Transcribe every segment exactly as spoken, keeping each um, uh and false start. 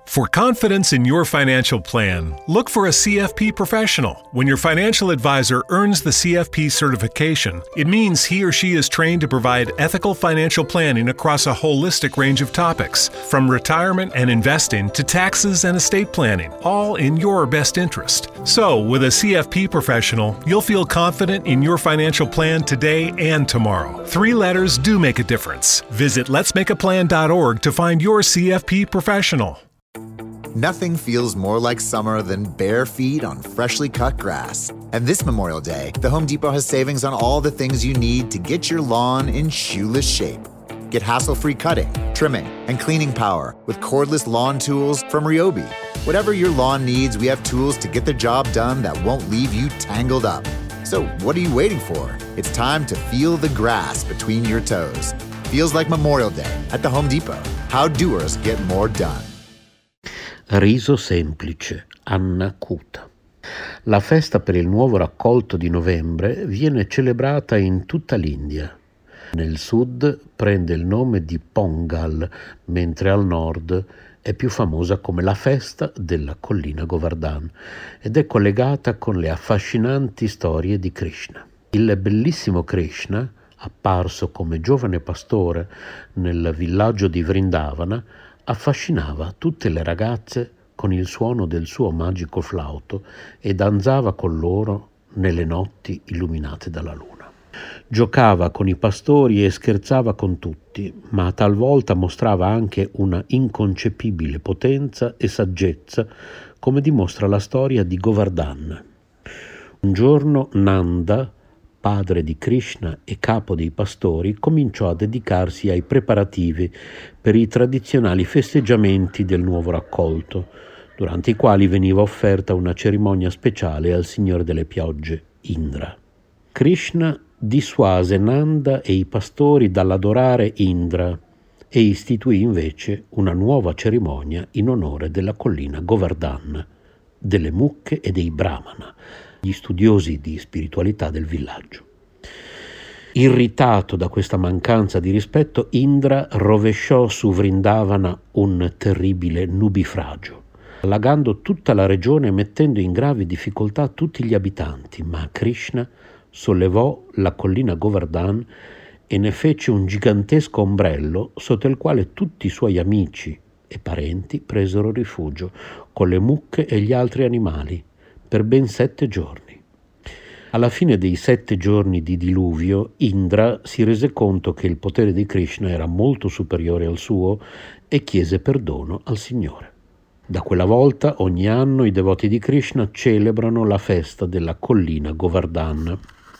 For confidence in your financial plan, look for a C F P professional. When your financial advisor earns the C F P certification, it means he or she is trained to provide ethical financial planning across a holistic range of topics, from retirement and investing to taxes and estate planning, all in your best interest. So, with a C F P professional, you'll feel confident in your financial plan today and tomorrow. Three letters do make a difference. Visit lets make a plan dot org to find your C F P professional. Nothing feels more like summer than bare feet on freshly cut grass. And this Memorial Day, the Home Depot has savings on all the things you need to get your lawn in shoeless shape. Get hassle-free cutting, trimming, and cleaning power with cordless lawn tools from Ryobi. Whatever your lawn needs, we have tools to get the job done that won't leave you tangled up. So what are you waiting for? It's time to feel the grass between your toes. Feels like Memorial Day at the Home Depot. How doers get more done. Riso semplice, Anna Cuta. La festa per il nuovo raccolto di novembre viene celebrata in tutta l'India. Nel sud prende il nome di Pongal, mentre al nord è più famosa come la festa della collina Govardhan ed è collegata con le affascinanti storie di Krishna. Il bellissimo Krishna, apparso come giovane pastore nel villaggio di Vrindavana, affascinava tutte le ragazze con il suono del suo magico flauto e danzava con loro nelle notti illuminate dalla luna. Giocava con i pastori e scherzava con tutti, ma talvolta mostrava anche una inconcepibile potenza e saggezza, come dimostra la storia di Govardhan. Un giorno Nanda, padre di Krishna e capo dei pastori, cominciò a dedicarsi ai preparativi per i tradizionali festeggiamenti del nuovo raccolto, durante i quali veniva offerta una cerimonia speciale al Signore delle piogge, Indra. Krishna dissuase Nanda e i pastori dall'adorare Indra e istituì invece una nuova cerimonia in onore della collina Govardhan, delle mucche e dei brahmana, gli studiosi di spiritualità del villaggio. Irritato da questa mancanza di rispetto, Indra rovesciò su Vrindavana un terribile nubifragio, allagando tutta la regione e mettendo in gravi difficoltà tutti gli abitanti, ma Krishna sollevò la collina Govardhan e ne fece un gigantesco ombrello sotto il quale tutti i suoi amici e parenti presero rifugio, con le mucche e gli altri animali, per ben sette giorni. Alla fine dei sette giorni di diluvio, Indra si rese conto che il potere di Krishna era molto superiore al suo e chiese perdono al Signore. Da quella volta, ogni anno, i devoti di Krishna celebrano la festa della collina Govardhan,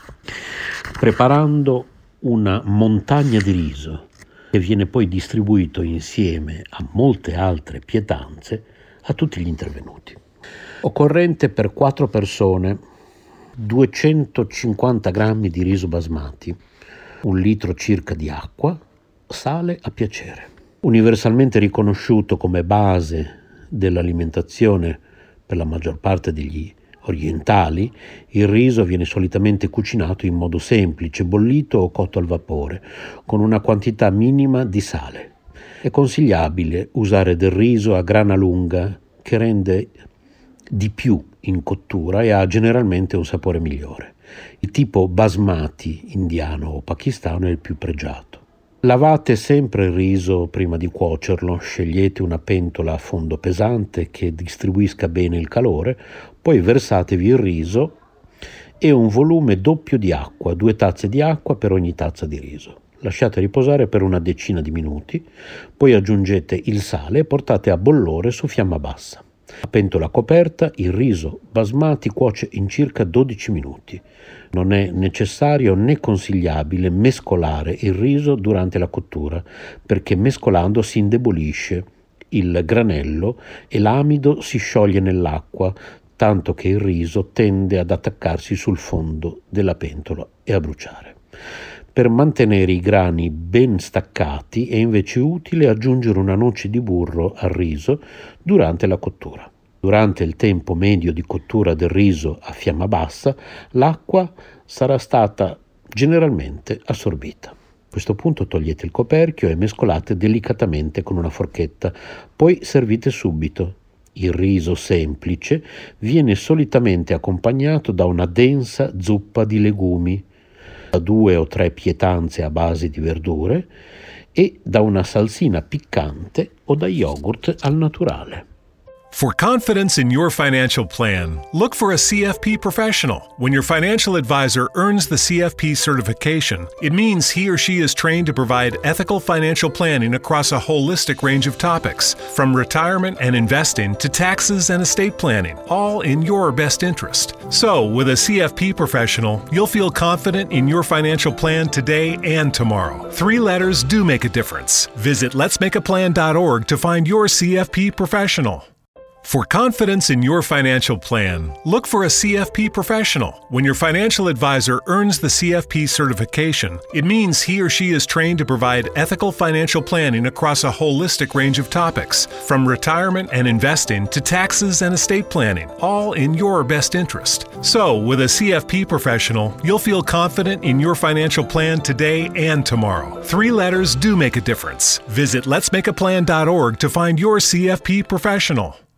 preparando una montagna di riso che viene poi distribuito insieme a molte altre pietanze a tutti gli intervenuti. Occorrente per quattro persone duecentocinquanta grammi di riso basmati, un litro circa di acqua, sale a piacere. Universalmente riconosciuto come base dell'alimentazione per la maggior parte degli orientali, il riso viene solitamente cucinato in modo semplice, bollito o cotto al vapore, con una quantità minima di sale. È consigliabile usare del riso a grana lunga, che rende di più in cottura e ha generalmente un sapore migliore. Il tipo basmati indiano o pakistano è il più pregiato. Lavate sempre il riso prima di cuocerlo, scegliete una pentola a fondo pesante che distribuisca bene il calore, poi versatevi il riso e un volume doppio di acqua, due tazze di acqua per ogni tazza di riso. Lasciate riposare per una decina di minuti, poi aggiungete il sale e portate a bollore su fiamma bassa. A pentola coperta, il riso basmati cuoce in circa dodici minuti. Non è necessario né consigliabile mescolare il riso durante la cottura, perché mescolando si indebolisce il granello e l'amido si scioglie nell'acqua, tanto che il riso tende ad attaccarsi sul fondo della pentola e a bruciare. Per mantenere i grani ben staccati è invece utile aggiungere una noce di burro al riso durante la cottura. Durante il tempo medio di cottura del riso a fiamma bassa, l'acqua sarà stata generalmente assorbita. questo punto togliete il coperchio e mescolate delicatamente con una forchetta, poi servite subito. Il riso semplice viene solitamente accompagnato da una densa zuppa di legumi, da due o tre pietanze a base di verdure e da una salsina piccante o da yogurt al naturale. For confidence in your financial plan, look for a C F P professional. When your financial advisor earns the C F P certification, it means he or she is trained to provide ethical financial planning across a holistic range of topics, from retirement and investing to taxes and estate planning, all in your best interest. So, with a C F P professional, you'll feel confident in your financial plan today and tomorrow. Three letters do make a difference. Visit lets make a plan dot org to find your C F P professional. For confidence in your financial plan, look for a C F P professional. When your financial advisor earns the C F P certification, it means he or she is trained to provide ethical financial planning across a holistic range of topics, from retirement and investing to taxes and estate planning, all in your best interest. So, with a C F P professional, you'll feel confident in your financial plan today and tomorrow. Three letters do make a difference. Visit lets make a plan dot org to find your C F P professional.